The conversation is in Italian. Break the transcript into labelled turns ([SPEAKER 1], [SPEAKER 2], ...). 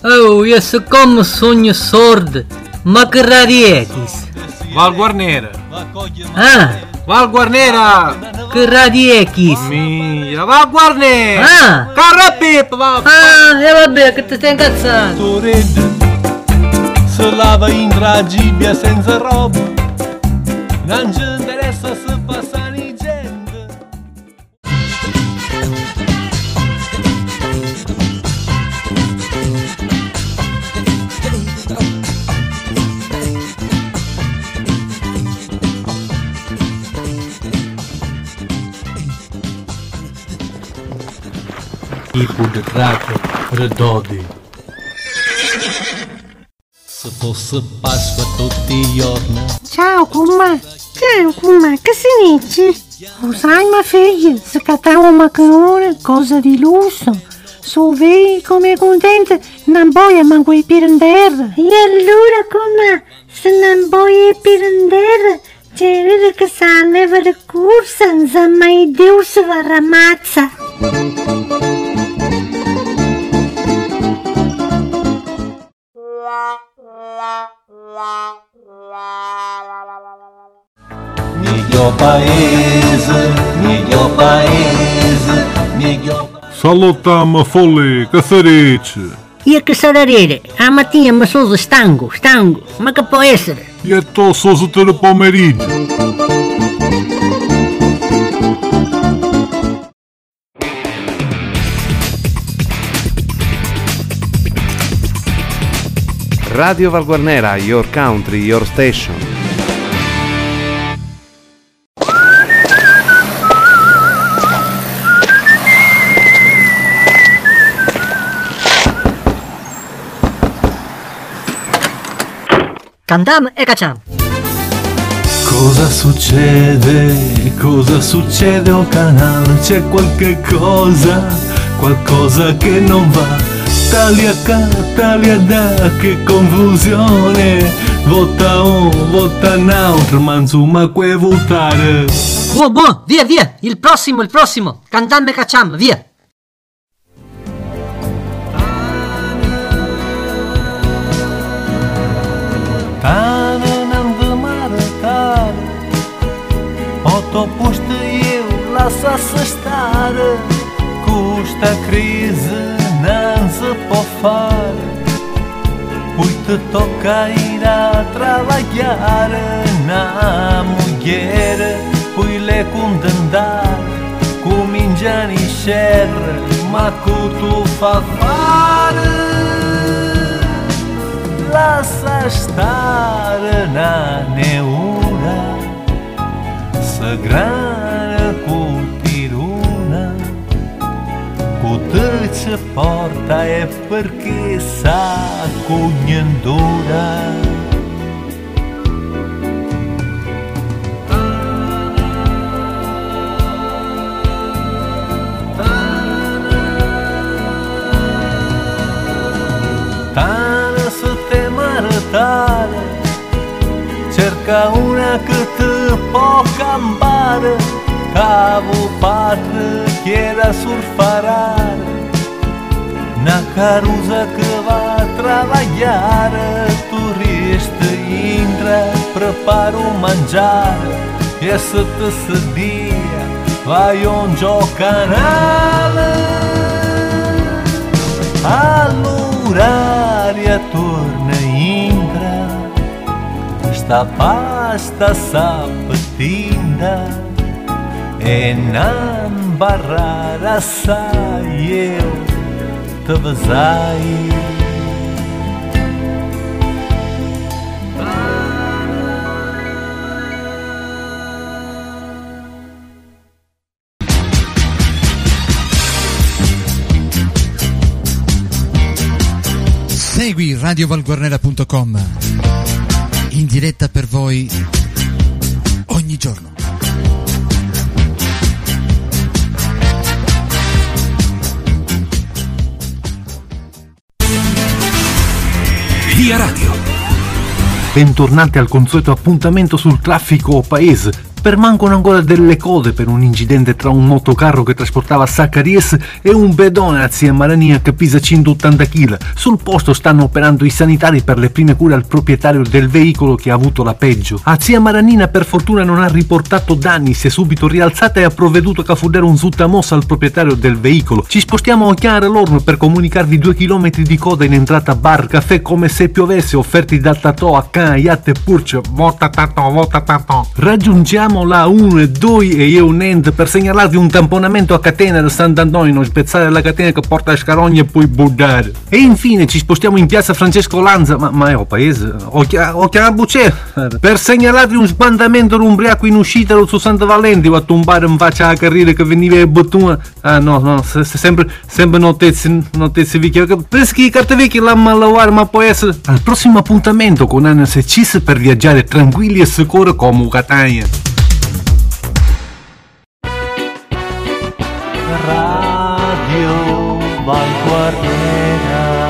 [SPEAKER 1] Oh, io so come sogno sordo, ma che radiechis?
[SPEAKER 2] Val Guarnera.
[SPEAKER 1] Ah,
[SPEAKER 2] Val Guarnera.
[SPEAKER 1] che radiechis?
[SPEAKER 2] Mia, Val Guarnera.
[SPEAKER 1] Ah,
[SPEAKER 2] Carra Pippa, va.
[SPEAKER 1] e vabbè, che ti stai incazzando?
[SPEAKER 3] Toredda se lava in tragibia senza roba, non ci interessa se passano i gente.
[SPEAKER 2] Tipo de cracker, redodi.
[SPEAKER 3] Se fosse Pasqua tutti i giorni.
[SPEAKER 4] Ciao cumma, che si dice? Lo sai ma figlia, se cattavo un macarone, cosa di lusso. So vedi come contenta, non voglio manco i pirandelli. E allora cumma, se non voglio i pirandelli, c'è vero che sa leva la corsa, non sa mai Dio se va ramazza.
[SPEAKER 3] Mio paese,
[SPEAKER 5] Salutiamo folli, che si dice?
[SPEAKER 4] Io che sarà a mattina mi sono stanco, ma che può essere?
[SPEAKER 5] E tu sono del pomeriggio.
[SPEAKER 6] Radio Val Guarnera, your country, your station.
[SPEAKER 4] Cantiamo e cacciamo.
[SPEAKER 3] Cosa succede? Cosa succede o canale? C'è qualcosa che non va. Taglia qua, taglia da, che confusione. Vota un, vota un altro, ma insomma che votare.
[SPEAKER 1] Buon, via, il prossimo, cantiamo e cacciamo, via.
[SPEAKER 3] Tane n-am de mare tare, o to puște eu, lasă să stare, cu sta criză n-am să po fare, uite tocca ir a trabalhare, na mulher, pui-le condandare, cu mingea ni xerra, ma cu tu fa fare. Lasă stare na neura, să grană cu tiruna, cu tot ce porta e perché sa cugnandura. Cerca una che te può campare, cavo patre chieda surfarare, na carusa che va a trabalhare, turista intra, prepara un mangiare, e se te sedia vai un giocanale, all'oraria torna intra, sta pasta sapetinda e non barrar assai eu te vesai.
[SPEAKER 7] Segui radiovalguarnera.com in diretta per voi ogni giorno.
[SPEAKER 8] Via Radio. Bentornati al consueto appuntamento sul traffico paese.
[SPEAKER 3] permangono ancora delle code per un incidente tra un motocarro che trasportava Zaccaries e un pedone a Zia Marania che pesa 180 kg. Sul posto stanno operando i sanitari per le prime cure al proprietario del veicolo che ha avuto la peggio. A Zia Maranina per fortuna non ha riportato danni, si è subito rialzata e ha provveduto a fornire un sutamossa al proprietario del veicolo. Ci spostiamo a Chiara Lorno per comunicarvi 2 km di coda in entrata bar caffè come se piovesse, offerti da Tatò a Can, Yatte e Purce. Vota Tatò, vota Tatò. Raggiungiamo la 1 e 2 e io un end per segnalarvi un tamponamento a catena del Sant'Antonio, spezzare la catena che porta a Scarogna e poi buddare. E infine ci spostiamo in piazza Francesco Lanza, ma è un paese, o chiama Bucè, per segnalarvi un sbandamento umbriaco in uscita su Santa Valenti a tombare in faccia alla carriera che veniva e bottuna. Ah no, sempre notizie vecchie, preschi carte vecchie la malawar, ma può essere al prossimo appuntamento con Anas e Cis per viaggiare tranquilli e sicuri come Catania.
[SPEAKER 8] Radio Val Guarnera.